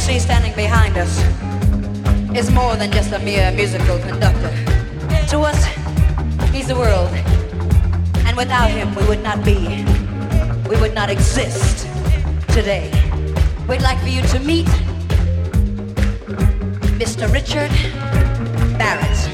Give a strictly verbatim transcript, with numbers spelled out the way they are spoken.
see standing behind us is more than just a mere musical conductor. To us, he's the world. And without him, we would not be, we would not exist today. We'd like for you to meet Mister Richard Barrett.